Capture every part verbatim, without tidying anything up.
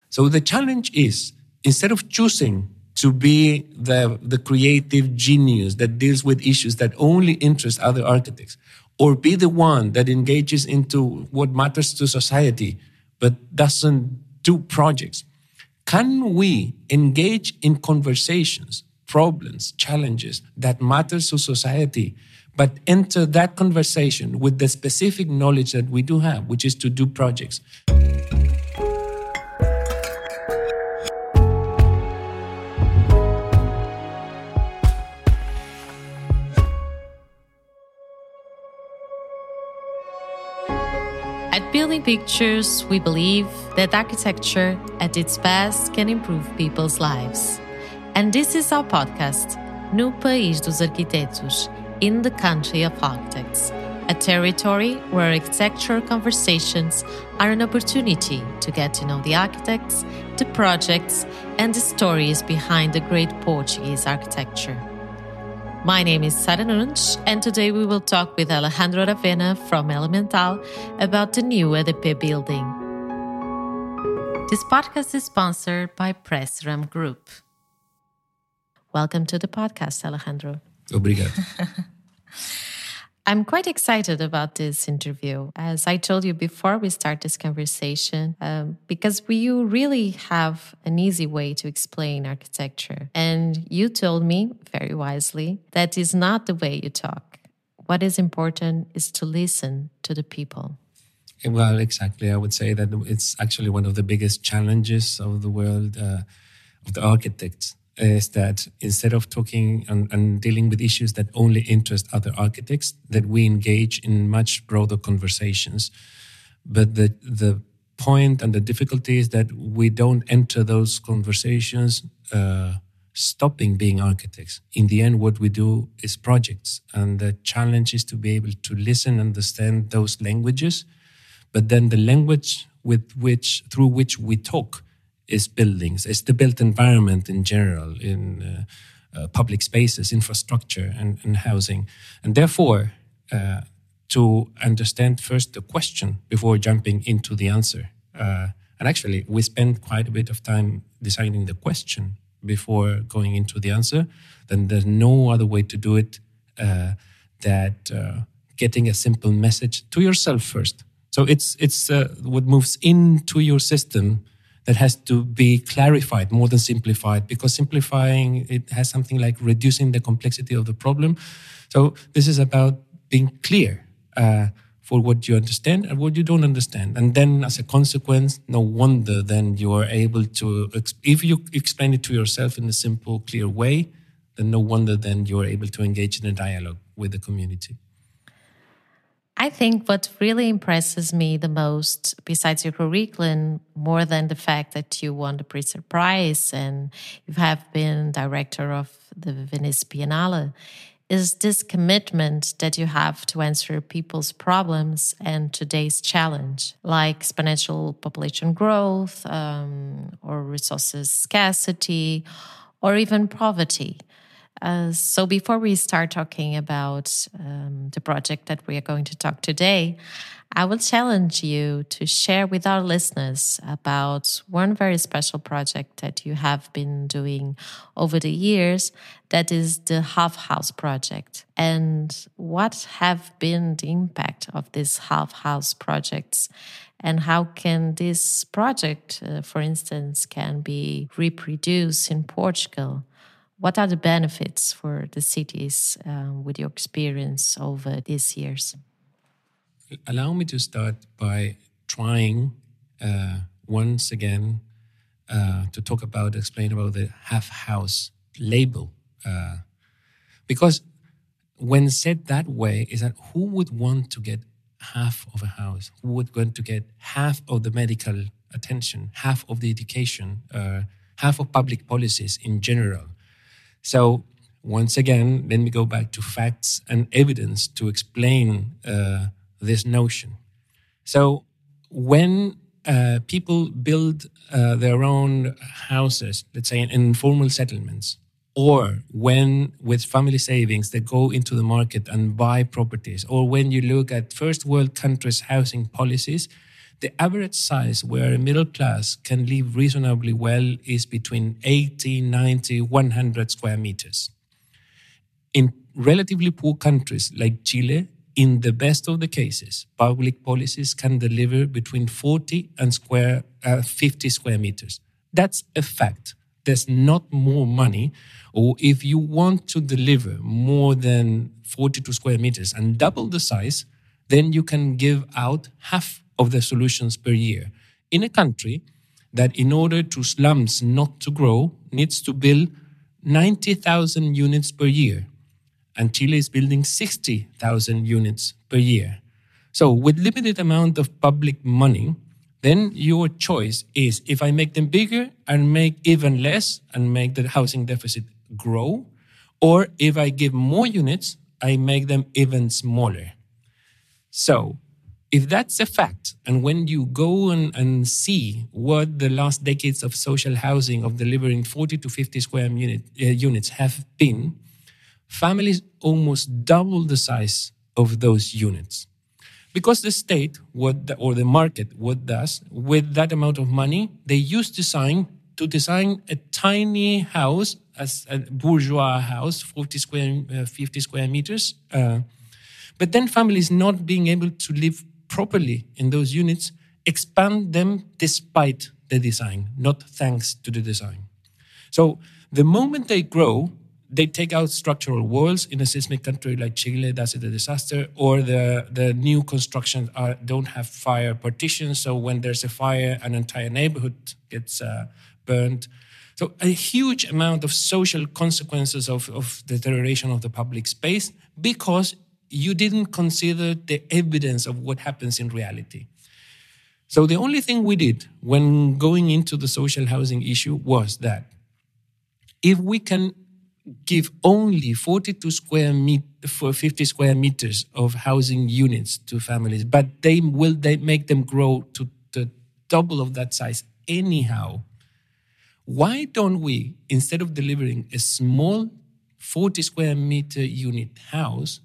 So the challenge is, instead of choosing to be the, the creative genius that deals with issues that only interest other architects, or be the one that engages into what matters to society, but doesn't do projects, can we engage in conversations, problems, challenges that matters to society, but enter that conversation with the specific knowledge that we do have, which is to do projects? At Building Pictures, we believe that architecture at its best can improve people's lives. And this is our podcast, No País dos Arquitetos, in the Country of Architects, a territory where architectural conversations are an opportunity to get to know the architects, the projects, and the stories behind the great Portuguese architecture. My name is Sara Nunes, and today we will talk with Alejandro Aravena from Elemental about the new E D P building. This podcast is sponsored by Pressram Group. Welcome to the podcast, Alejandro. Obrigado. I'm quite excited about this interview, as I told you before we start this conversation, um, because we, you really have an easy way to explain architecture. And you told me, very wisely, that is not the way you talk. What is important is to listen to the people. Well, exactly. I would say that it's actually one of the biggest challenges of the world, uh, of the architects, is that instead of talking and, and dealing with issues that only interest other architects, that we engage in much broader conversations. But the the point and the difficulty is that we don't enter those conversations uh, stopping being architects. In the end, what we do is projects. And the challenge is to be able to listen, understand those languages, but then the language with which through which we talk is buildings, it's the built environment in general, in uh, uh, public spaces, infrastructure, and, and housing. And therefore, uh, to understand first the question before jumping into the answer. Uh, and actually, we spend quite a bit of time deciding the question before going into the answer. Then there's no other way to do it uh, that uh, getting a simple message to yourself first. So it's, it's uh, what moves into your system that has to be clarified more than simplified, because simplifying, it has something like reducing the complexity of the problem. So this is about being clear uh, for what you understand and what you don't understand. And then as a consequence, no wonder then you are able to, if you explain it to yourself in a simple, clear way, then no wonder then you are able to engage in a dialogue with the community. I think what really impresses me the most, besides your curriculum, more than the fact that you won the Pritzker Prize and you have been director of the Venice Biennale, is this commitment that you have to answer people's problems and today's challenge, like exponential population growth, um, or resources scarcity, or even poverty. Uh, so before we start talking about um, the project that we are going to talk today, I will challenge you to share with our listeners about one very special project that you have been doing over the years, that is the Half House project. And what have been the impact of these Half House projects, and how can this project, uh, for instance, can be reproduced in Portugal? What are the benefits for the cities uh, with your experience over these years? Allow me to start by trying uh, once again uh, to talk about, explain about the half house label. Uh, because when said that way, is that who would want to get half of a house? Who would want to get half of the medical attention, half of the education, uh, half of public policies in general? So once again, let me go back to facts and evidence to explain uh, this notion. So when uh, people build uh, their own houses, let's say in informal settlements, or when with family savings they go into the market and buy properties, or when you look at first world countries' housing policies, The average size where a middle class can live reasonably well is between eighty, ninety, one hundred square meters. In relatively poor countries like Chile, in the best of the cases, public policies can deliver between forty and square, uh, fifty square meters. That's a fact. There's not more money, or if you want to deliver more than forty-two square meters and double the size, then you can give out half of the solutions per year. In a country that, in order to slums not to grow, needs to build ninety thousand units per year. And Chile is building sixty thousand units per year. So with limited amount of public money, then your choice is, if I make them bigger and make even less and make the housing deficit grow, or if I give more units, I make them even smaller. So if that's a fact, and when you go and, and see what the last decades of social housing of delivering forty to fifty square unit, uh, units have been, families almost double the size of those units. Because the state, what the, or the market, what does, with that amount of money, they use design to design a tiny house, as a bourgeois house, forty square, uh, fifty square meters. Uh, but then families not being able to live properly in those units expand them despite the design, not thanks to the design. So the moment they grow, they take out structural walls. In a seismic country like Chile, that's a disaster. Or the, the new constructions are, don't have fire partitions, so when there's a fire, an entire neighborhood gets uh, burned. So a huge amount of social consequences of, of deterioration of the public space because you didn't consider the evidence of what happens in reality. So the only thing we did when going into the social housing issue was that if we can give only forty-two square meter for fifty square meters of housing units to families, but they will they make them grow to the double of that size anyhow. Why don't we, instead of delivering a small forty square meter unit house,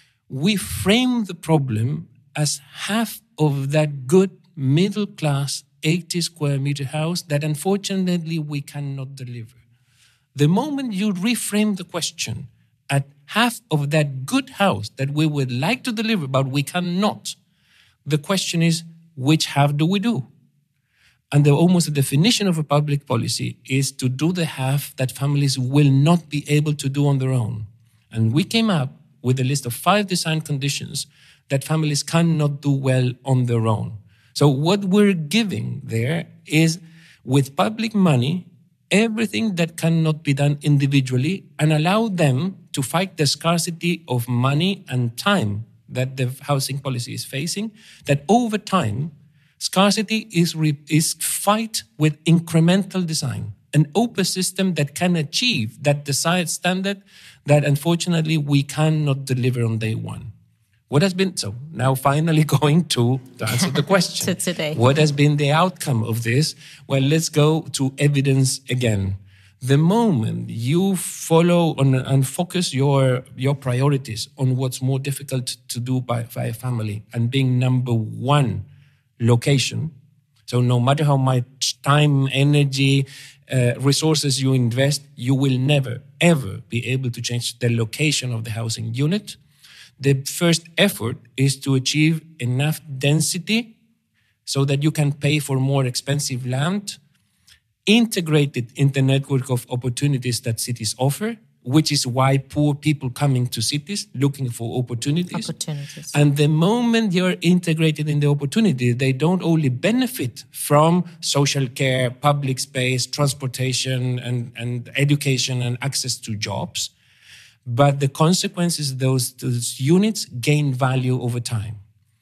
we frame the problem as half of that good middle class eighty square meter house that unfortunately we cannot deliver? The moment you reframe the question at half of that good house that we would like to deliver, but we cannot, the question is, which half do we do? And the, almost the definition of a public policy is to do the half that families will not be able to do on their own. And we came up with a list of five design conditions that families cannot do well on their own. So what we're giving there is, with public money, everything that cannot be done individually, and allow them to fight the scarcity of money and time that the housing policy is facing, that over time, scarcity is, re- is fight with incremental design, an open system that can achieve that desired standard that unfortunately we cannot deliver on day one. What has been, so now finally going to, to answer the question. To today. What has been the outcome of this? Well, let's go to evidence again. The moment you follow on, and focus your, your priorities on what's more difficult to do by, by a family, and being number one, location. So no matter how much time, energy, uh, resources you invest, you will never, ever be able to change the location of the housing unit. The first effort is to achieve enough density so that you can pay for more expensive land, integrate it in the network of opportunities that cities offer, which is why poor people coming to cities looking for opportunities. Opportunities. And the moment you're integrated in the opportunity, they don't only benefit from social care, public space, transportation, and, and education and access to jobs, but the consequences, those, those units gain value over time.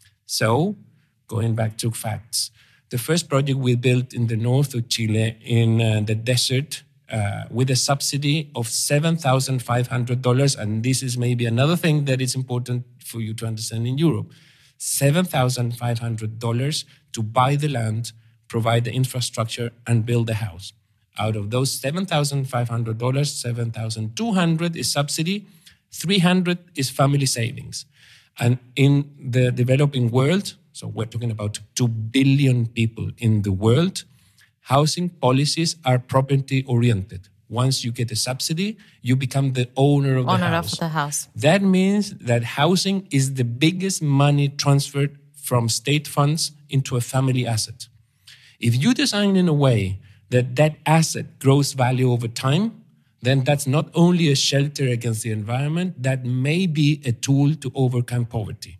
So, going back to facts, the first project we built in the north of Chile, in uh, the desert, uh, with a subsidy of seven thousand five hundred dollars, and this is maybe another thing that is important for you to understand in Europe, seven thousand five hundred dollars to buy the land, provide the infrastructure, and build the house. Out of those seven thousand five hundred dollars, seven thousand two hundred dollars is subsidy, three hundred dollars is family savings. And in the developing world, so we're talking about two billion people in the world, housing policies are property-oriented. Once you get a subsidy, you become the owner of owner the house. of the house. That means that housing is the biggest money transferred from state funds into a family asset. If you design in a way that that asset grows value over time, then that's not only a shelter against the environment, that may be a tool to overcome poverty.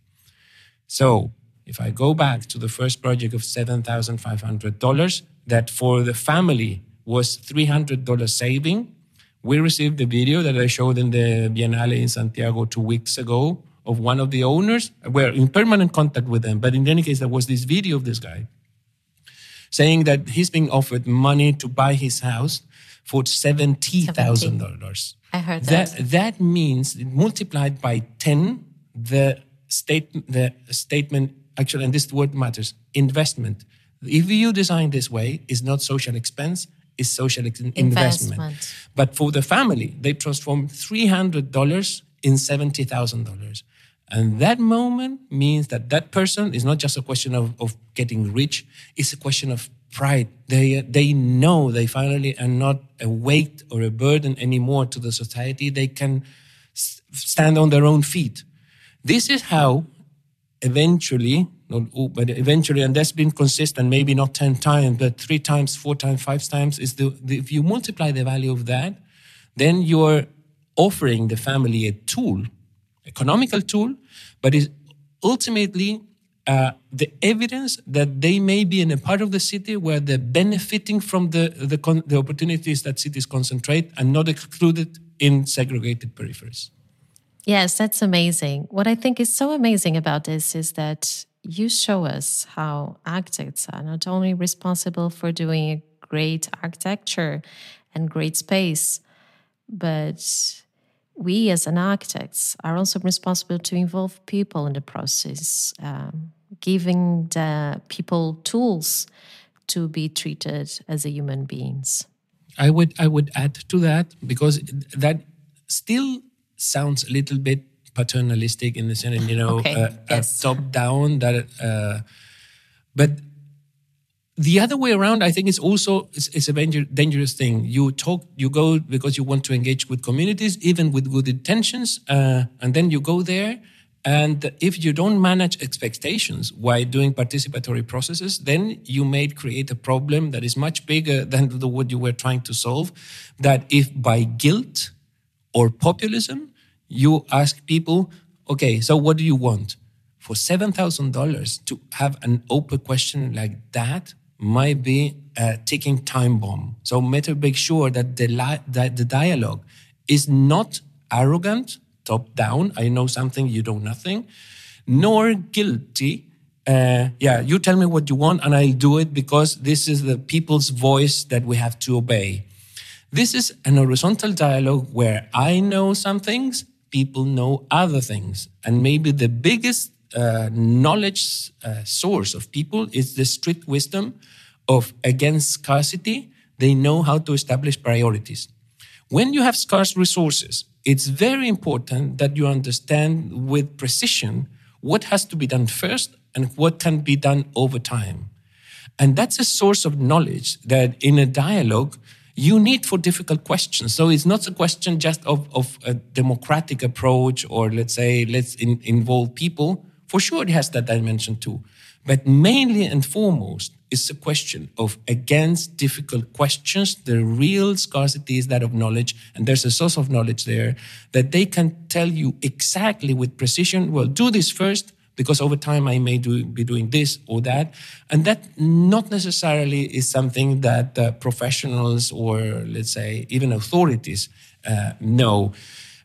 So if I go back to the first project of seven thousand five hundred dollars, that for the family was three hundred dollars saving, we received the video that I showed in the Biennale in Santiago two weeks ago of one of the owners. We're in permanent contact with them, but in any case, there was this video of this guy saying that he's being offered money to buy his house for seventy thousand dollars. I heard that. that. That means multiplied by ten, the state, the statement, actually, and this word matters, investment. If you design this way, it's not social expense, it's social ex- investment. investment. But for the family, they transform three hundred dollars in seventy thousand dollars. And that moment means that that person is not just a question of, of getting rich, it's a question of pride. They, they know they finally are not a weight or a burden anymore to the society. They can s- stand on their own feet. This is how eventually, not, but eventually, and that's been consistent, maybe not ten times, but three times, four times, five times, is the, the if you multiply the value of that, then you're offering the family a tool, economical tool, but is ultimately uh, the evidence that they may be in a part of the city where they're benefiting from the the, con- the opportunities that cities concentrate and not excluded in segregated peripheries. Yes, that's amazing. What I think is so amazing about this is that you show us how architects are not only responsible for doing great architecture and great space, but we as an architects are also responsible to involve people in the process, um, giving the people tools to be treated as a human beings. I would I would add to that, because that still sounds a little bit paternalistic in the sense, you know, okay, uh, yes. top down. That, uh, but the other way around, I think, is also it's, it's a dangerous thing. You talk, you go because you want to engage with communities, even with good intentions, uh, and then you go there. And if you don't manage expectations while doing participatory processes, then you may create a problem that is much bigger than the, what you were trying to solve. That if by guilt or populism, you ask people, okay, so what do you want? For seven thousand dollars to have an open question like that might be a ticking time bomb. So better make sure that the, li- that the dialogue is not arrogant, top down, I know something, you know nothing, nor guilty. Uh, yeah, you tell me what you want and I'll do it because this is the people's voice that we have to obey. This is an horizontal dialogue where I know some things, people know other things. And maybe the biggest uh, knowledge uh, source of people is the strict wisdom of against scarcity. They know how to establish priorities. When you have scarce resources, it's very important that you understand with precision what has to be done first and what can be done over time. And that's a source of knowledge that in a dialogue you need for difficult questions. So it's not a question just of, of a democratic approach or let's say, let's in, involve people. For sure it has that dimension too. But mainly and foremost, it's a question of against difficult questions. The real scarcity is that of knowledge. And there's a source of knowledge there that they can tell you exactly with precision, well, do this first, because over time I may do, be doing this or that. And that not necessarily is something that uh, professionals or, let's say, even authorities uh, know.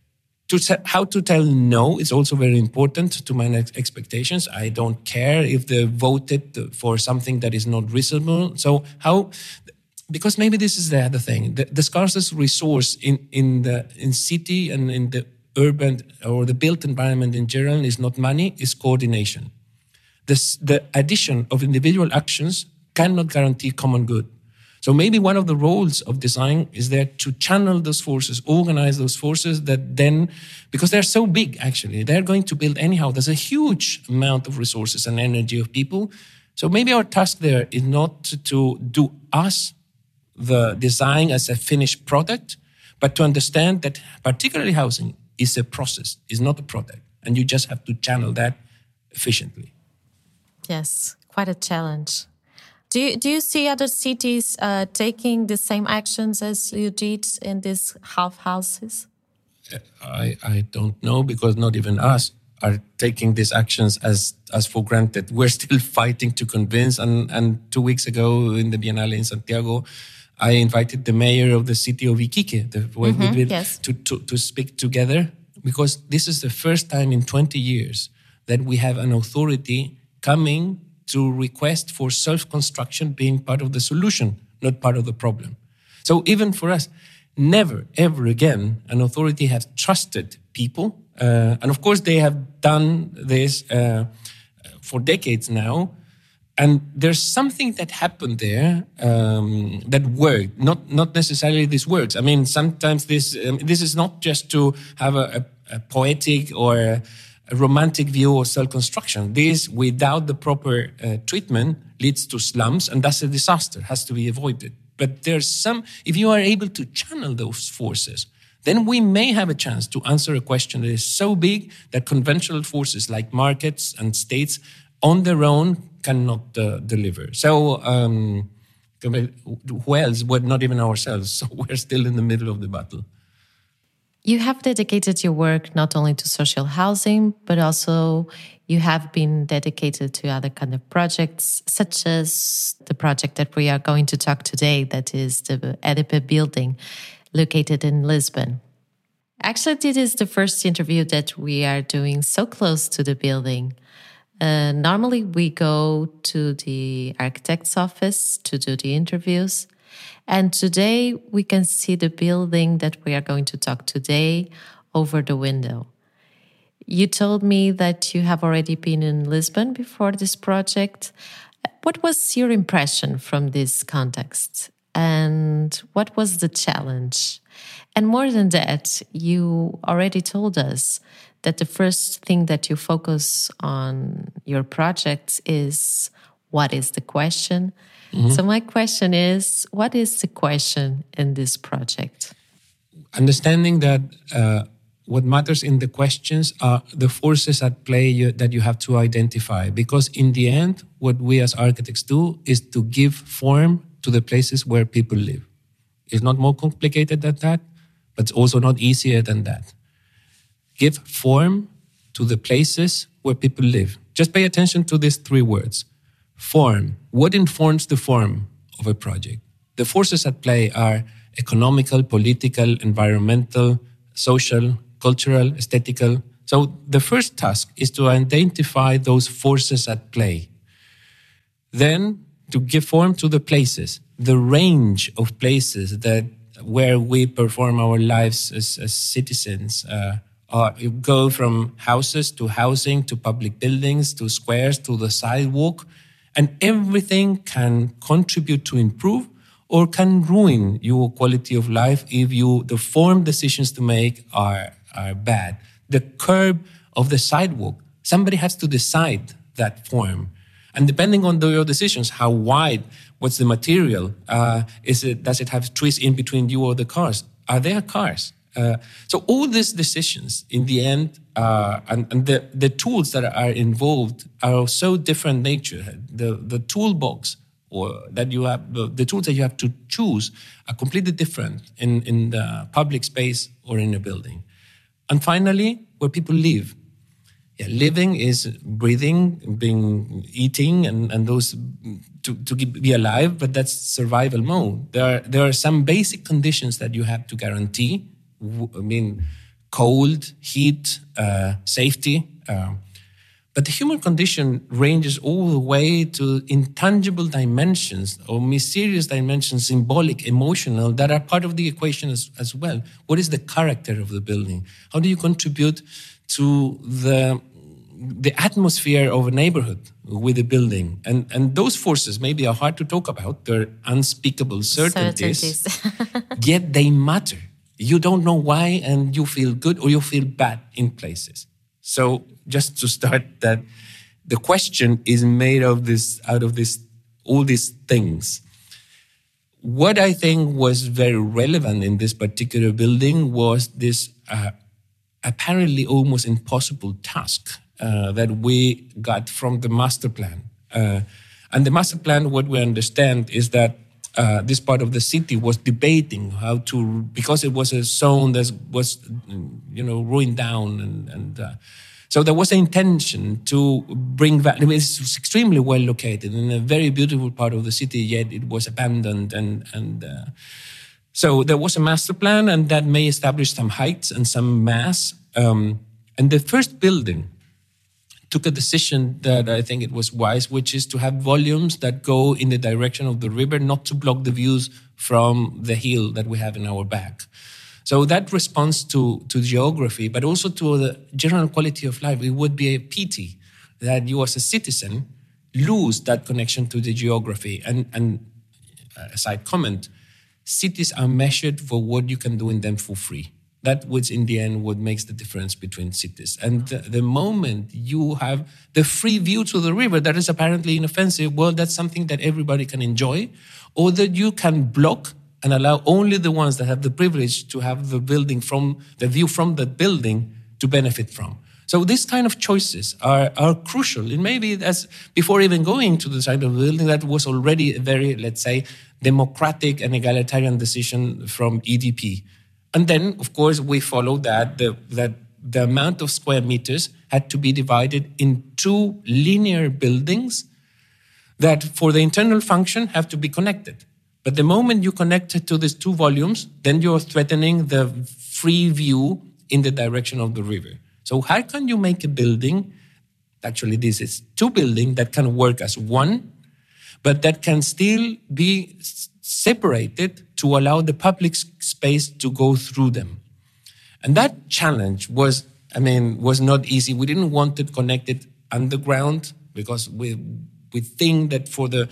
To te- how to tell no is also very important to manage expectations. I don't care if they voted for something that is not reasonable. So how, because maybe this is the other thing, the, the scarcest resource in, in the in city and in the urban or the built environment in general is not money, is coordination. This, the addition of individual actions cannot guarantee common good. So maybe one of the roles of design is there to channel those forces, organize those forces that then, because they're so big, actually, they're going to build anyhow. There's a huge amount of resources and energy of people. So maybe our task there is not to do us, the design as a finished product, but to understand that particularly housing is a process, is not a product. And you just have to channel that efficiently. Yes, quite a challenge. Do you, do you see other cities uh, taking the same actions as you did in these half houses? I, I don't know, because not even us are taking these actions as, as for granted. We're still fighting to convince. And, and two weeks ago in the Biennale in Santiago, I invited the mayor of the city of Iquique the, mm-hmm, with, yes. to, to, to speak together, because this is the first time in twenty years that we have an authority coming to request for self-construction being part of the solution, not part of the problem. So even for us, never, ever again, an authority has trusted people. Uh, and of course, they have done this uh, for decades now. And there's something that happened there um, that worked. Not not necessarily this works. I mean, sometimes this um, this is not just to have a, a, a poetic or a, a romantic view of self-construction. This, without the proper uh, treatment, leads to slums, and that's a disaster, has to be avoided. But there's some, if you are able to channel those forces, then we may have a chance to answer a question that is so big that conventional forces like markets and states on their own cannot uh, deliver. So, um, who else? Well, not even ourselves. So we're still in the middle of the battle. You have dedicated your work not only to social housing, but also you have been dedicated to other kind of projects, such as the project that we are going to talk today, that is the EDIPE building located in Lisbon. Actually, this is the first interview that we are doing so close to the building. Uh, normally, we go to the architect's office to do the interviews. And today, we can see the building that we are going to talk today over the window. You told me that you have already been in Lisbon before this project. What was your impression from this context? And what was the challenge? And more than that, you already told us that the first thing that you focus on your project is what is the question? Mm-hmm. So my question is, what is the question in this project? Understanding that uh, what matters in the questions are the forces at play you, that you have to identify. Because in the end, what we as architects do is to give form to the places where people live. It's not more complicated than that, but it's also not easier than that. Give form to the places where people live. Just pay attention to these three words. Form. What informs the form of a project? The forces at play are economical, political, environmental, social, cultural, aesthetical. So the first task is to identify those forces at play. Then to give form to the places, the range of places that where we perform our lives as, as citizens. Uh, uh, you go from houses to housing to public buildings to squares to the sidewalk. And everything can contribute to improve or can ruin your quality of life if you the form decisions to make are, are bad. The curb of the sidewalk, somebody has to decide that form. And depending on the, your decisions, how wide, what's the material, uh, is it, does it have trees in between you or the cars? Are there cars? Uh, so all these decisions, in the end, uh, and, and the, the tools that are involved are of so different nature. The the toolbox or that you have, the, the tools that you have to choose are completely different in, in the public space or in a building. And finally, where people live. Yeah, living is breathing, being, eating, and, and those to, to be alive, but that's survival mode. There are, there are some basic conditions that you have to guarantee. I mean, cold, heat, uh, safety. Uh, but the human condition ranges all the way to intangible dimensions or mysterious dimensions, symbolic, emotional, that are part of the equation as, as well. What is the character of the building? How do you contribute to the the atmosphere of a neighborhood with a building. And, and those forces maybe are hard to talk about. They're unspeakable certainties, certainties. Yet they matter. You don't know why, and you feel good or you feel bad in places. So just to start that, the question is made of this, out of this, all these things. What I think was very relevant in this particular building was this uh, apparently almost impossible task uh, that we got from the master plan. Uh, and the master plan, what we understand is that uh, this part of the city was debating how to, because it was a zone that was, you know, ruined down. And, and uh, so there was an intention to bring back, I mean, it's extremely well located in a very beautiful part of the city, yet it was abandoned. And, and uh, so there was a master plan, and that may establish some heights and some mass. Um, and the first building took a decision that I think it was wise, which is to have volumes that go in the direction of the river, not to block the views from the hill that we have in our back. So that responds to, to geography, but also to the general quality of life. It would be a pity that you as a citizen lose that connection to the geography. And, and a side comment, cities are measured for what you can do in them for free. That was, in the end, what makes the difference between cities. And the, the moment you have the free view to the river that is apparently inoffensive, well, that's something that everybody can enjoy, or that you can block and allow only the ones that have the privilege to have the building from the view from that building to benefit from. So these kind of choices are, are crucial. And maybe that's before even going to the side of the building, that was already a very, let's say, democratic and egalitarian decision from E D P. And then, of course, we follow that the, that the amount of square meters had to be divided in two linear buildings that for the internal function have to be connected. But the moment you connect it to these two volumes, then you're threatening the free view in the direction of the river. So how can you make a building, actually this is two buildings that can work as one, but that can still be separated to allow the public space to go through them? And that challenge was, I mean, was not easy. We didn't want to connect it underground because we we think that for the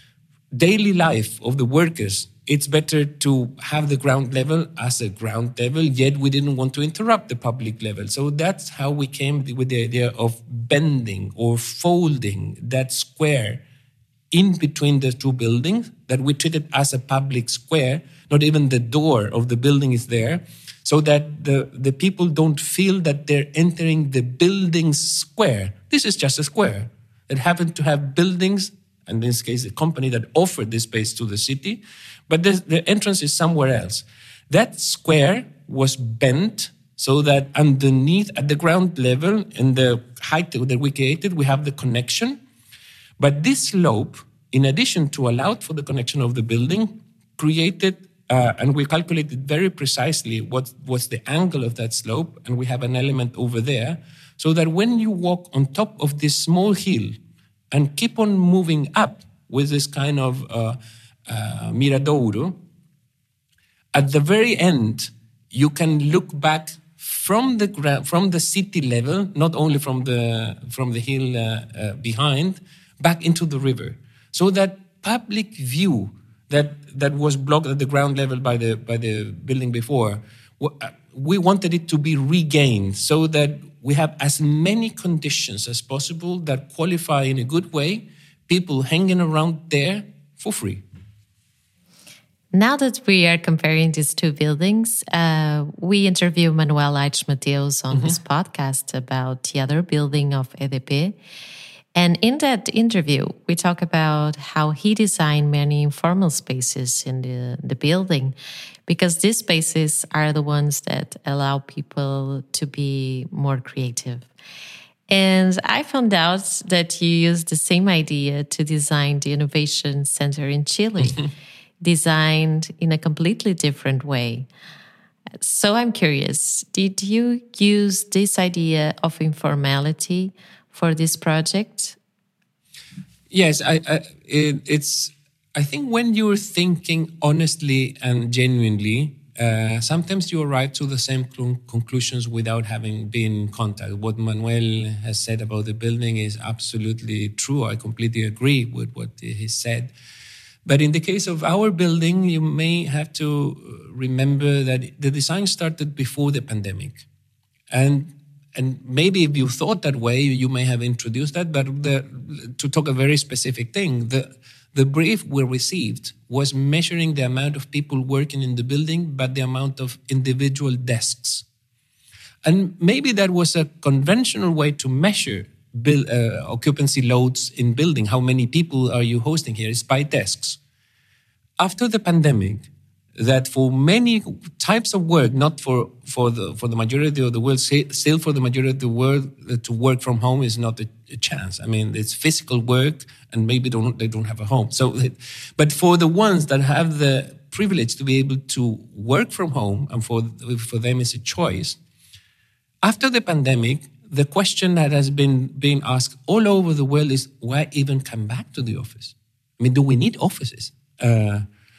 daily life of the workers, it's better to have the ground level as a ground level, yet we didn't want to interrupt the public level. So that's how we came with the idea of bending or folding that square in between the two buildings, that we treat it as a public square, not even the door of the building is there, so that the, the people don't feel that they're entering the building's square. This is just a square. It happened to have buildings, and in this case, a company that offered this space to the city, but the, the entrance is somewhere else. That square was bent so that underneath, at the ground level, in the height that we created, we have the connection. But this slope, in addition to allow for the connection of the building, created, uh, and we calculated very precisely what was the angle of that slope, and we have an element over there, so that when you walk on top of this small hill and keep on moving up with this kind of uh, uh, miradouro, at the very end, you can look back from the gra- from the city level, not only from the from the hill uh, uh, behind, back into the river. So that public view that that was blocked at the ground level by the by the building before, we wanted it to be regained so that we have as many conditions as possible that qualify in a good way people hanging around there for free. Now that we are comparing these two buildings, uh, we interview Manuel Aires Mateus on mm-hmm. this podcast about the other building of E D P. And in that interview, we talk about how he designed many informal spaces in the, the building, because these spaces are the ones that allow people to be more creative. And I found out that you used the same idea to design the Innovation Center in Chile, designed in a completely different way. So I'm curious, did you use this idea of informality for this project? Yes, I, I, it, it's. I think when you're thinking honestly and genuinely, Uh, sometimes you arrive to the same cl- conclusions without having been in contact. What Manuel has said about the building is absolutely true. I completely agree with what he said. But in the case of our building, you may have to remember that the design started before the pandemic. And and maybe if you thought that way, you may have introduced that. But the, to talk a very specific thing, the The brief we received was measuring the amount of people working in the building, but the amount of individual desks. And maybe that was a conventional way to measure build, uh, occupancy loads in building. How many people are you hosting here? It's by desks. After the pandemic, that for many types of work, not for, for, the, for the majority of the world, still for the majority of the world, to work from home is not a, a chance. I mean, it's physical work, and maybe don't, they don't have a home. So, but for the ones that have the privilege to be able to work from home, and for, for them it's a choice, after the pandemic, the question that has been being asked all over the world is, why even come back to the office? I mean, do we need offices? Uh,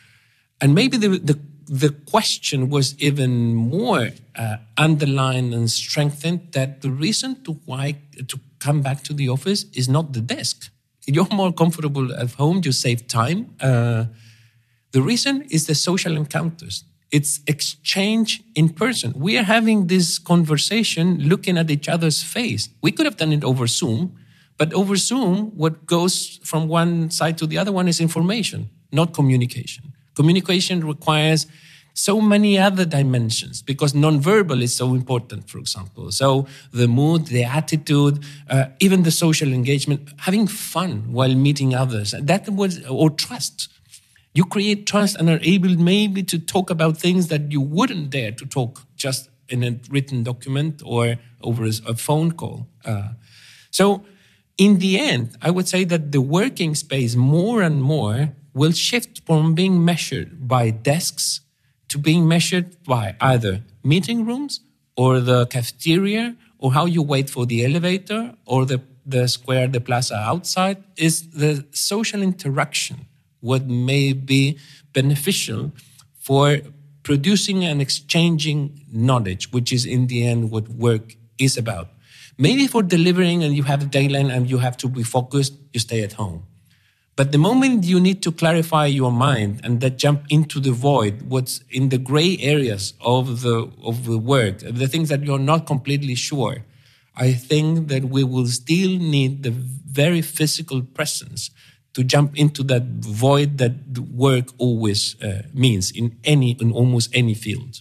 And maybe the, the, the question was even more uh, underlined and strengthened, that the reason to why to come back to the office is not the desk. You're more comfortable at home, you save time. Uh, the reason is the social encounters. It's exchange in person. We are having this conversation looking at each other's face. We could have done it over Zoom, but over Zoom, what goes from one side to the other one is information, not communication. Communication requires so many other dimensions because nonverbal is so important, for example. So the mood, the attitude, uh, even the social engagement, having fun while meeting others, that was, or trust. You create trust and are able maybe to talk about things that you wouldn't dare to talk just in a written document or over a phone call. Uh, so in the end, I would say that the working space more and more will shift from being measured by desks to being measured by either meeting rooms or the cafeteria or how you wait for the elevator or the, the square, the plaza outside. Is the social interaction what may be beneficial for producing and exchanging knowledge, which is in the end what work is about. Maybe for delivering and you have a deadline and you have to be focused, you stay at home. But the moment you need to clarify your mind and that jump into the void, what's in the gray areas of the of the work, the things that you're not completely sure, I think that we will still need the very physical presence to jump into that void that work always uh, means in any in almost any field.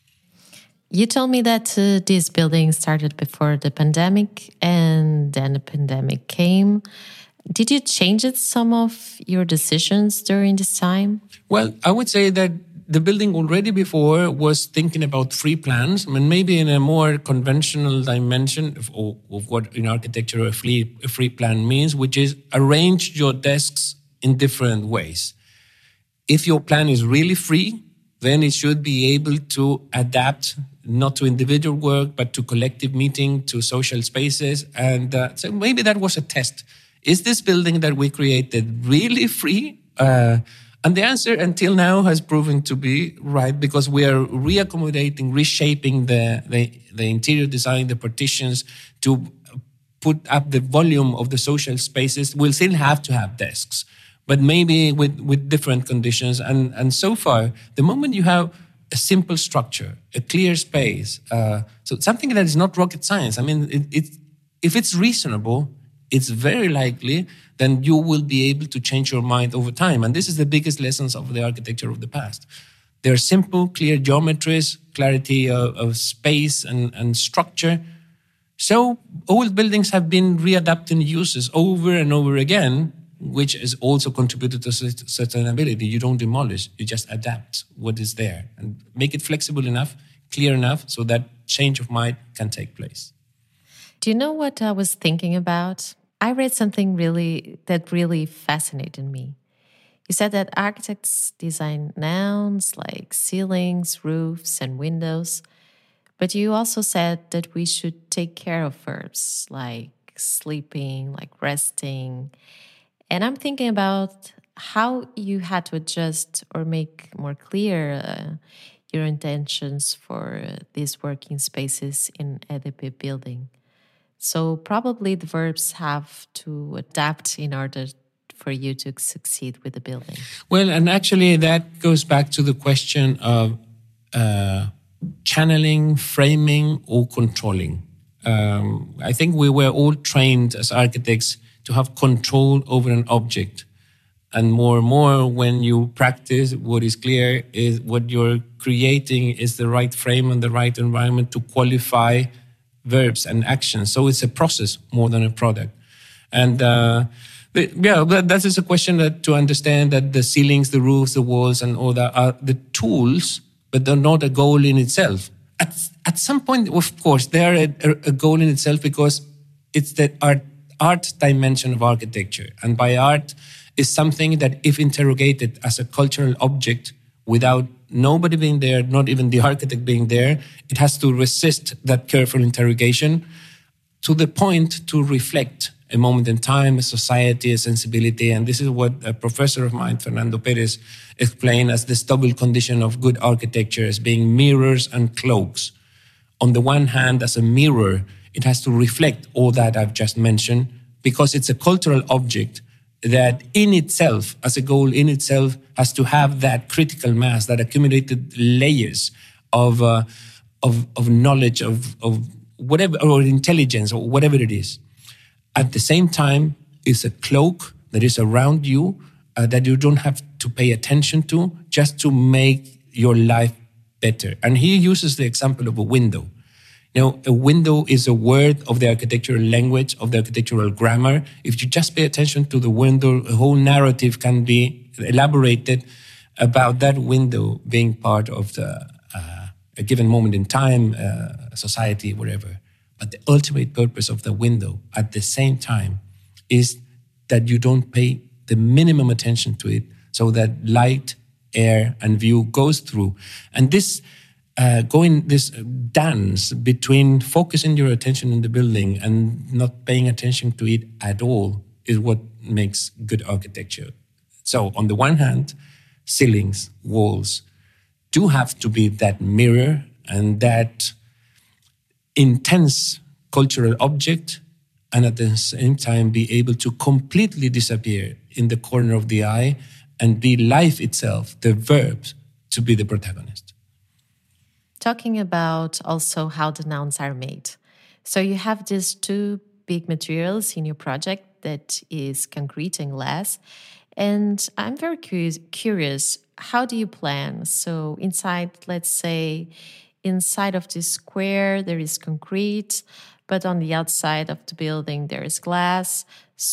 You told me that uh, this building started before the pandemic, and then the pandemic came. Did you change it, some of your decisions during this time? Well, I would say that the building already before was thinking about free plans, I mean, maybe in a more conventional dimension of, of what in architecture a free, a free plan means, which is arrange your desks in different ways. If your plan is really free, then it should be able to adapt not to individual work, but to collective meeting, to social spaces. And uh, so maybe that was a test. Is this building that we created really free? Uh, and the answer until now has proven to be right, because we are reaccommodating, reshaping the, the, the interior design, the partitions to put up the volume of the social spaces. We'll still have to have desks, but maybe with, with different conditions. And, and so far, the moment you have a simple structure, a clear space, uh, so something that is not rocket science. I mean, it, it, if it's reasonable, it's very likely then you will be able to change your mind over time. And this is the biggest lessons of the architecture of the past. They're simple, clear geometries, clarity of, of space and, and structure. So old buildings have been readapting uses over and over again, which has also contributed to sustainability. You don't demolish, you just adapt what is there and make it flexible enough, clear enough, so that change of mind can take place. Do you know what I was thinking about? I read something really that really fascinated me. You said that architects design nouns like ceilings, roofs, and windows, but you also said that we should take care of verbs like sleeping, like resting. And I'm thinking about how you had to adjust or make more clear uh, your intentions for uh, these working spaces in E D P building. So probably the verbs have to adapt in order for you to succeed with the building. Well, and actually that goes back to the question of uh, channeling, framing, or controlling. Um, I think we were all trained as architects to have control over an object. And more and more, when you practice, what is clear is what you're creating is the right frame and the right environment to qualify verbs and actions. So it's a process more than a product. And uh, but, yeah, that, that is a question that to understand that the ceilings, the roofs, the walls, and all that are the tools, but they're not a goal in itself. At, at some point, of course, they are a, a goal in itself because it's the art, art dimension of architecture. And by art is something that if interrogated as a cultural object without nobody being there, not even the architect being there, it has to resist that careful interrogation to the point to reflect a moment in time, a society, a sensibility. And this is what a professor of mine, Fernando Perez, explained as this double condition of good architecture as being mirrors and cloaks. On the one hand, as a mirror, it has to reflect all that I've just mentioned because it's a cultural object that in itself, as a goal in itself, has to have that critical mass, that accumulated layers of uh, of, of knowledge, of, of whatever, or intelligence, or whatever it is. At the same time, it's a cloak that is around you uh, that you don't have to pay attention to just to make your life better. And he uses the example of a window. You know, a window is a word of the architectural language, of the architectural grammar. If you just pay attention to the window, a whole narrative can be elaborated about that window being part of the, uh, a given moment in time, uh, society, whatever. But the ultimate purpose of the window at the same time is that you don't pay the minimum attention to it so that light, air, and view goes through. And this Uh, going this dance between focusing your attention in the building and not paying attention to it at all is what makes good architecture. So on the one hand, ceilings, walls do have to be that mirror and that intense cultural object, and at the same time be able to completely disappear in the corner of the eye and be life itself, the verb, to be the protagonist. Talking about also how the nouns are made. So you have these two big materials in your project that is concrete and glass. And I'm very curious, curious, how do you plan? So inside, let's say, inside of this square, there is concrete, but on the outside of the building, there is glass.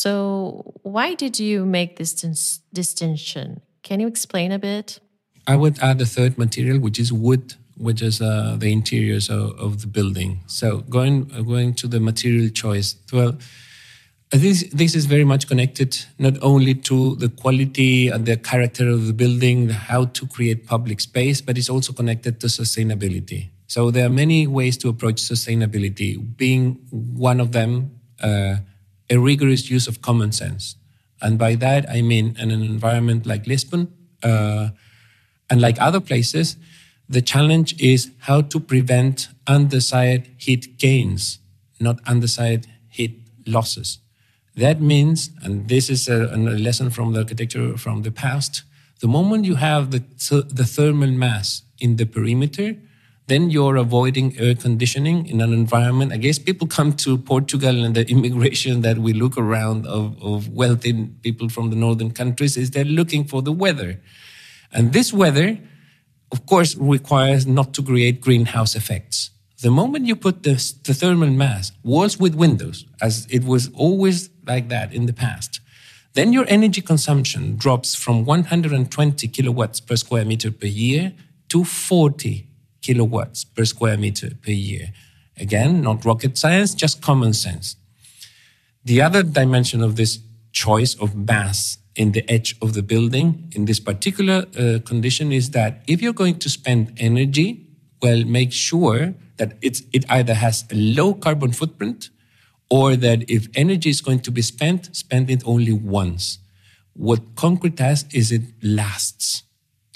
So why did you make this dis- distinction? Can you explain a bit? I would add a third material, which is wood, which is uh, the interiors of, of the building. So going uh, going to the material choice, well, this, this is very much connected not only to the quality and the character of the building, how to create public space, but it's also connected to sustainability. So there are many ways to approach sustainability, being one of them uh, a rigorous use of common sense. And by that, I mean in an environment like Lisbon uh, and like other places, the challenge is how to prevent undesired heat gains, not undesired heat losses. That means, and this is a, a lesson from the architecture from the past, the moment you have the, the thermal mass in the perimeter, then you're avoiding air conditioning in an environment. I guess people come to Portugal and the immigration that we look around of, of wealthy people from the northern countries is they're looking for the weather. And this weather, of course, requires not to create greenhouse effects. The moment you put the, the thermal mass, walls with windows, as it was always like that in the past, then your energy consumption drops from one hundred twenty kilowatts per square meter per year to forty kilowatts per square meter per year. Again, not rocket science, just common sense. The other dimension of this choice of mass in the edge of the building, in this particular uh, condition, is that if you're going to spend energy, well, make sure that it's, it either has a low carbon footprint or that if energy is going to be spent, spend it only once. What concrete has is it lasts.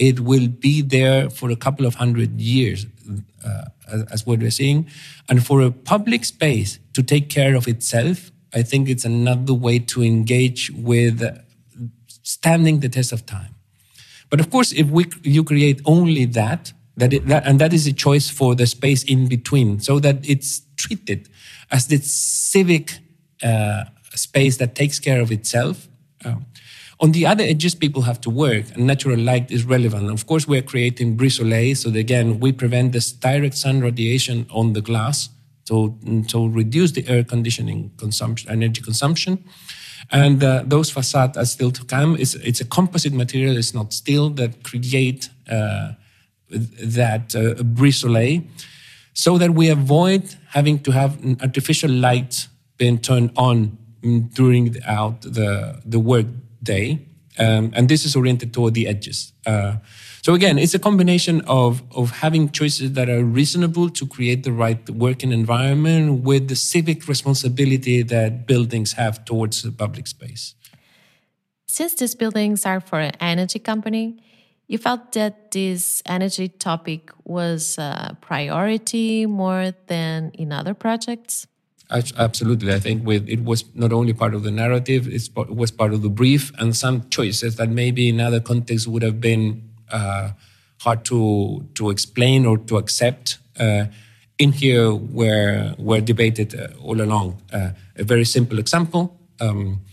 it will be there for a couple of hundred years, uh, as, as what we're seeing. And for a public space to take care of itself, I think it's another way to engage with standing the test of time. But of course, if we you create only that, that, it, that and that is a choice for the space in between, so that it's treated as this civic uh, space that takes care of itself. Um, on the other edges, people have to work, and natural light is relevant. Of course, we're creating brise-soleil, so that, again, we prevent this direct sun radiation on the glass to, to reduce the air conditioning consumption, energy consumption. And uh, those facades are still to come. It's, it's a composite material, it's not steel, that create uh, that uh, brise-soleil, so that we avoid having to have an artificial light being turned on during the, out the, the work day. Um, and this is oriented toward the edges. Uh, so again, it's a combination of, of having choices that are reasonable to create the right working environment with the civic responsibility that buildings have towards the public space. Since these buildings are for an energy company, you felt that this energy topic was a priority more than in other projects? Absolutely. I think with, it was not only part of the narrative, it's, it was part of the brief, and some choices that maybe in other contexts would have been uh, hard to to explain or to accept. Uh, in here, were, were debated uh, all along. Uh, a very simple example. Um,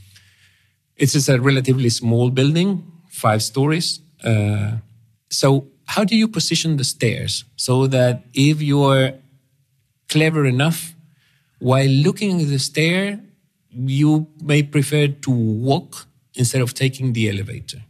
it's just a relatively small building, five stories. Uh, so how do you position the stairs so that if you're clever enough, while looking at the stair, you may prefer to walk instead of taking the elevator?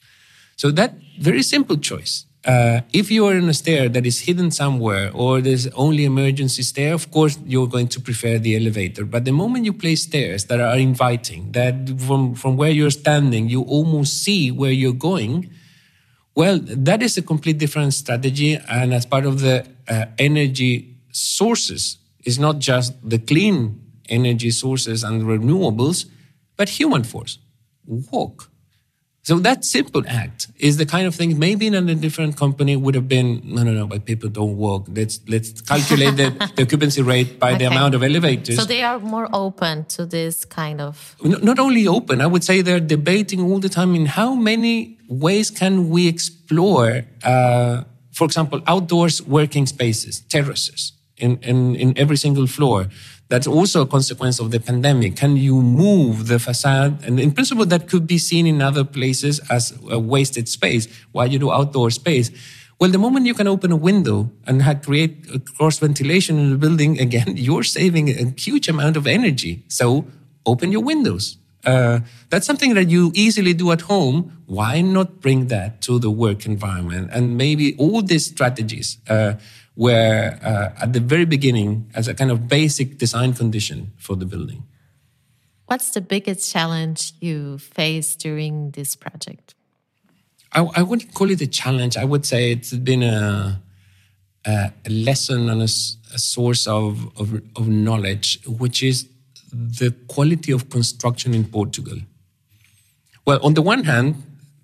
So that very simple choice. Uh, if you are in a stair that is hidden somewhere or there's only emergency stair, of course, you're going to prefer the elevator. But the moment you place stairs that are inviting, that from, from where you're standing, you almost see where you're going, well, that is a complete different strategy. And as part of the uh, energy sources, it's not just the clean energy sources and renewables, but human force. Walk. So that simple act is the kind of thing maybe in a different company would have been, no, no, no, but people don't walk. Let's let's calculate the, the occupancy rate by okay. the amount of elevators. So they are more open to this kind of... Not only open, I would say they're debating all the time in how many ways can we explore, uh, for example, outdoors working spaces, terraces. In, in, in every single floor. That's also a consequence of the pandemic. Can you move the facade? And in principle, that could be seen in other places as a wasted space. Why you do outdoor space? Well, the moment you can open a window and have, create a cross ventilation in the building, again, you're saving a huge amount of energy. So open your windows. Uh, that's something that you easily do at home. Why not bring that to the work environment? And maybe all these strategies uh, were uh, at the very beginning as a kind of basic design condition for the building. What's the biggest challenge you faced during this project? I, I wouldn't call it a challenge. I would say it's been a, a, a lesson and a, a source of, of, of knowledge, which is the quality of construction in Portugal. Well, on the one hand,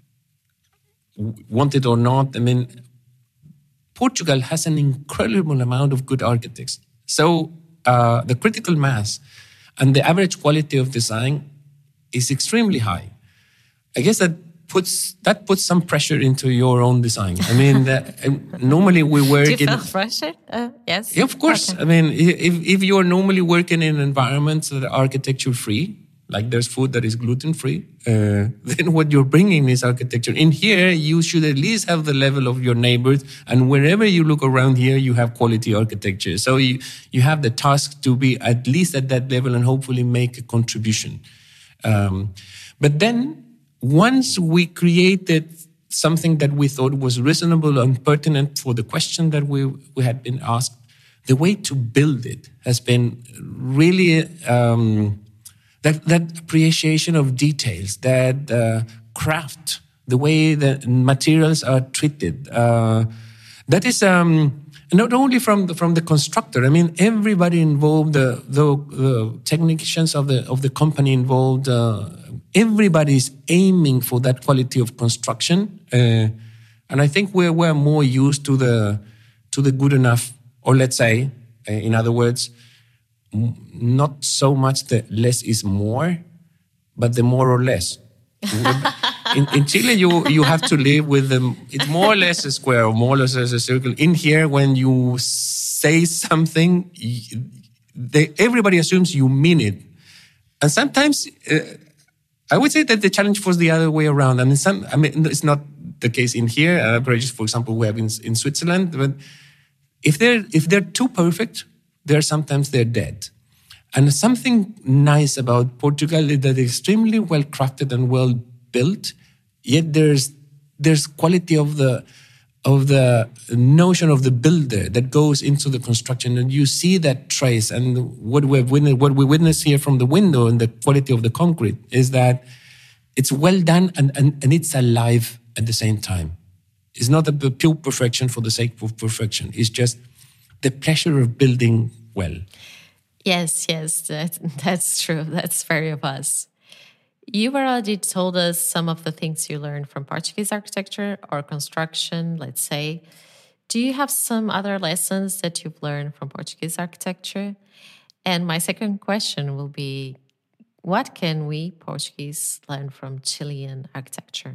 want it or not, I mean, Portugal has an incredible amount of good architects. So uh, the critical mass and the average quality of design is extremely high. I guess that puts that puts some pressure into your own design. I mean, the, normally we work in... Do you feel pressure? Uh, yes. Yeah, of course. Okay. I mean, if, if you're normally working in environments that are architecture-free, like there's food that is gluten-free, uh, then what you're bringing is architecture. In here, you should at least have the level of your neighbors, and wherever you look around here, you have quality architecture. So you, you have the task to be at least at that level and hopefully make a contribution. Um, but then, once we created something that we thought was reasonable and pertinent for the question that we, we had been asked, the way to build it has been really um, that, that appreciation of details, that uh, craft, the way that materials are treated. Uh, that is um, not only from the, from the constructor. I mean, everybody involved, the, the, the technicians of the of the company involved. Uh, everybody is aiming for that quality of construction. Uh, And I think we're, we're more used to the, to the good enough, or let's say, uh, in other words, m- not so much the less is more, but the more or less. in, in Chile, you, you have to live with them. It's more or less a square, or more or less as a circle. In here, when you say something, they, everybody assumes you mean it. And sometimes, uh, I would say that the challenge was the other way around. And in some, I mean, it's not the case in here. Uh, for example, we have in, in Switzerland. But if they're if they're too perfect, they're sometimes they're dead. And something nice about Portugal is that it's extremely well crafted and well built. Yet there's there's quality of the of the notion of the builder that goes into the construction, and you see that trace. And what we've witnessed, what we witness here from the window and the quality of the concrete is that it's well done and, and, and it's alive at the same time. It's not a pure perfection for the sake of perfection. It's just the pleasure of building well. Yes, yes, that, that's true. That's very of us. You already told us some of the things you learned from Portuguese architecture or construction, let's say. Do you have some other lessons that you've learned from Portuguese architecture? And my second question will be, what can we Portuguese learn from Chilean architecture?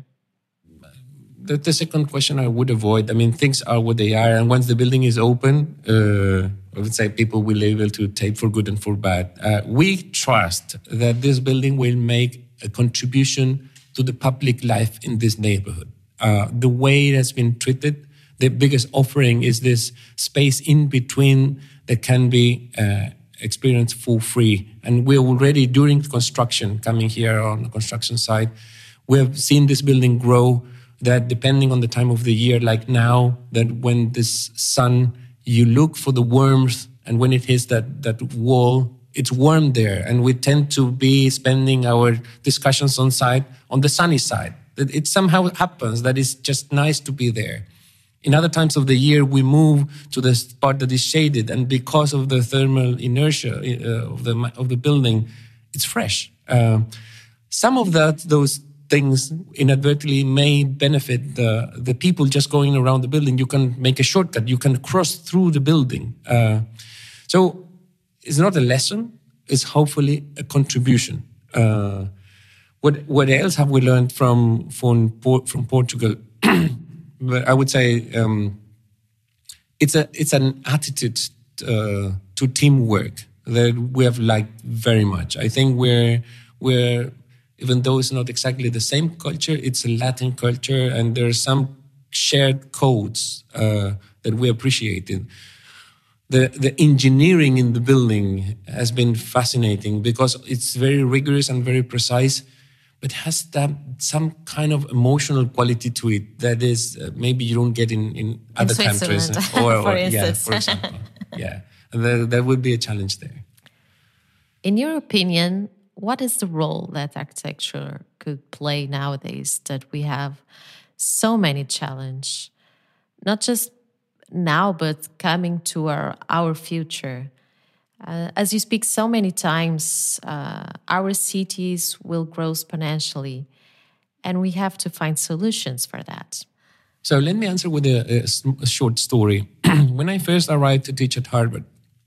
The, the second question I would avoid. I mean, things are what they are. And once the building is open, uh, I would say people will be able to take for good and for bad. Uh, we trust that this building will make a contribution to the public life in this neighborhood. Uh, the way it has been treated, the biggest offering is this space in between that can be uh, experienced for free. And we're already, during construction, coming here on the construction site, we have seen this building grow, that depending on the time of the year, like now, that when this sun, you look for the warmth, and when it hits that, that wall, it's warm there. And we tend to be spending our discussions on site, on the sunny side. That it somehow happens that it's just nice to be there. In other times of the year, we move to the part that is shaded, and because of the thermal inertia uh, of the of the building, it's fresh. Uh, some of that, those things inadvertently may benefit the, the people just going around the building. You can make a shortcut. You can cross through the building. Uh, so it's not a lesson. It's hopefully a contribution. Uh, what what else have we learned from from, from Portugal? But I would say um, it's a it's an attitude uh, to teamwork that we have liked very much. I think we're we're even though it's not exactly the same culture, it's a Latin culture, and there are some shared codes uh, that we appreciated. The the engineering in the building has been fascinating because it's very rigorous and very precise, but has that some kind of emotional quality to it that is uh, maybe you don't get in, in other in countries. Or, or, for or, instance. Yeah, for example. Yeah, and there, there would be a challenge there. In your opinion, what is the role that architecture could play nowadays that we have so many challenges, not just now, but coming to our, our future? Uh, as you speak so many times, uh, our cities will grow exponentially, and we have to find solutions for that. So let me answer with a, a, a short story. When I first arrived to teach at Harvard,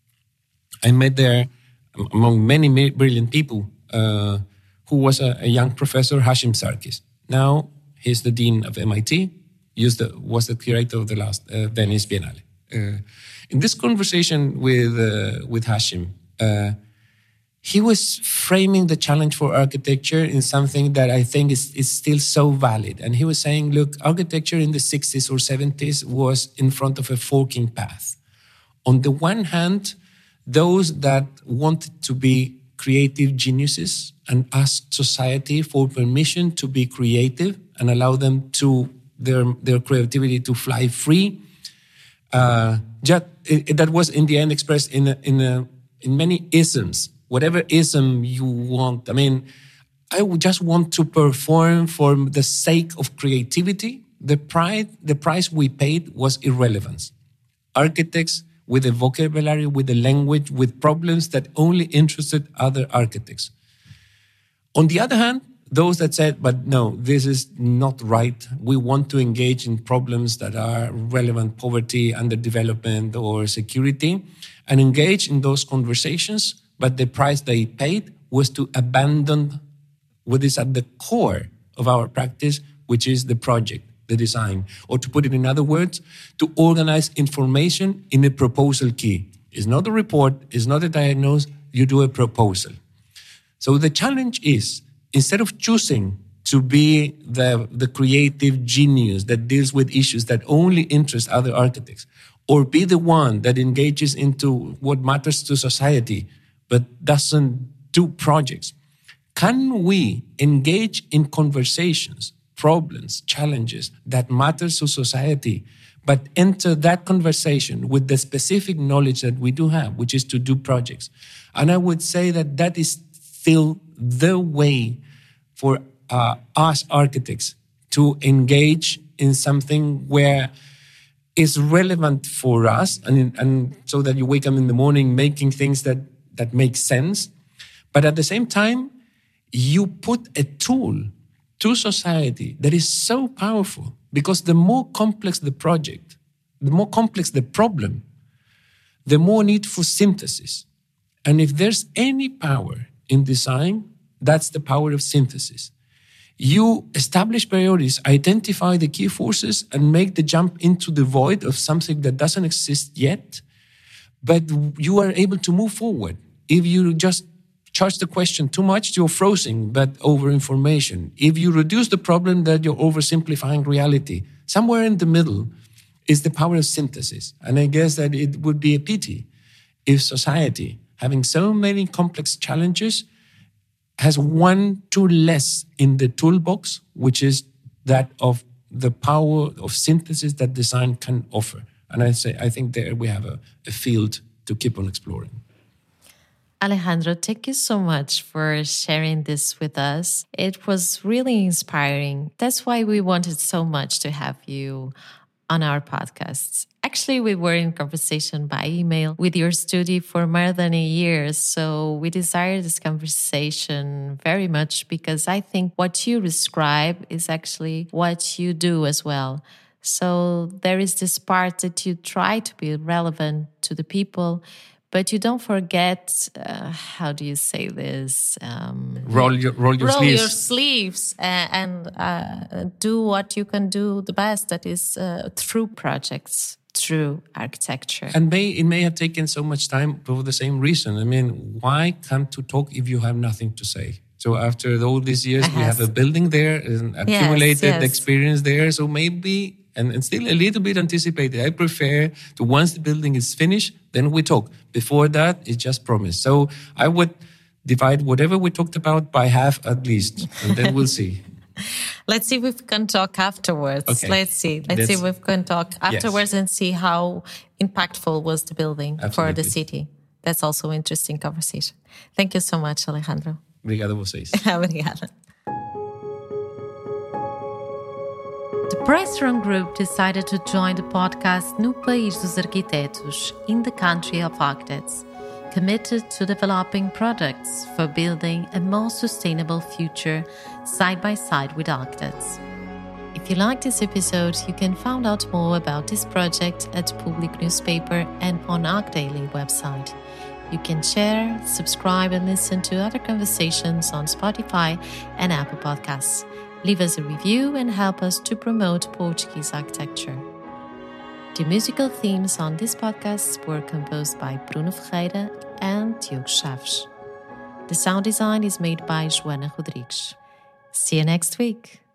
I met there, among many brilliant people, uh, who was a, a young professor, Hashim Sarkis. Now he's the dean of M I T, used the, was the curator of the last uh, Venice Biennale. Uh, in this conversation with uh, with Hashim, uh, he was framing the challenge for architecture in something that I think is, is still so valid. And he was saying, look, architecture in the sixties or seventies was in front of a forking path. On the one hand, those that wanted to be creative geniuses and asked society for permission to be creative and allow them to their their creativity to fly free. Uh, just, it, that was in the end expressed in a, in a, in many isms. Whatever ism you want. I mean, I would just want to perform for the sake of creativity. The pride, the price we paid was irrelevance. Architects with a vocabulary, with a language, with problems that only interested other architects. On the other hand, those that said, but no, this is not right. We want to engage in problems that are relevant, poverty, underdevelopment, or security, and engage in those conversations. But the price they paid was to abandon what is at the core of our practice, which is the project, the design. Or to put it in other words, to organize information in a proposal key. It's not a report, it's not a diagnosis, you do a proposal. So the challenge is, instead of choosing to be the, the creative genius that deals with issues that only interest other architects, or be the one that engages into what matters to society, but doesn't do projects, can we engage in conversations, problems, challenges that matter to society, but enter that conversation with the specific knowledge that we do have, which is to do projects? And I would say that that is still the way for uh, us architects to engage in something where it's relevant for us, and, and so that you wake up in the morning making things that, that make sense. But at the same time, you put a tool to society that is so powerful, because the more complex the project, the more complex the problem, the more need for synthesis. And if there's any power in design, that's the power of synthesis. You establish priorities, identify the key forces, and make the jump into the void of something that doesn't exist yet, but you are able to move forward. If you just charge the question too much, you're frozen, but over information. If you reduce the problem, that you're oversimplifying reality. Somewhere in the middle is the power of synthesis. And I guess that it would be a pity if society, having so many complex challenges, has one tool less in the toolbox, which is that of the power of synthesis that design can offer. And I say, I think there we have a, a field to keep on exploring. Alejandro, thank you so much for sharing this with us. It was really inspiring. That's why we wanted so much to have you on our podcasts. Actually, we were in conversation by email with your studio for more than a year. So we desire this conversation very much, because I think what you describe is actually what you do as well. So there is this part that you try to be relevant to the people, but you don't forget, uh, how do you say this? Um, roll your, roll your roll sleeves. your sleeves and, and uh, do what you can do the best, that is uh, through projects, through architecture. And may it may have taken so much time for the same reason. I mean, why come to talk if you have nothing to say? So after all these years, yes. we have a building there, an accumulated yes, yes. experience there. So maybe, and, and still a little bit anticipated, I prefer to, once the building is finished, then we talk. Before that, it's just promise. So I would divide whatever we talked about by half at least, and then we'll see. Let's see if we can talk afterwards. Okay. Let's see. Let's That's, see if we can talk afterwards yes. and see how impactful was the building Absolutely. For the city. That's also an interesting conversation. Thank you so much, Alejandro. Obrigado a vocês. Obrigada. The Pressroom Group decided to join the podcast No País dos Arquitetos, in the country of architects, committed to developing products for building a more sustainable future side by side with architects. If you like this episode, you can find out more about this project at Public Newspaper and on ArchDaily website. You can share, subscribe, and listen to other conversations on Spotify and Apple Podcasts. Leave us a review and help us to promote Portuguese architecture. The musical themes on this podcast were composed by Bruno Ferreira and Diogo Chaves. The sound design is made by Joana Rodrigues. See you next week.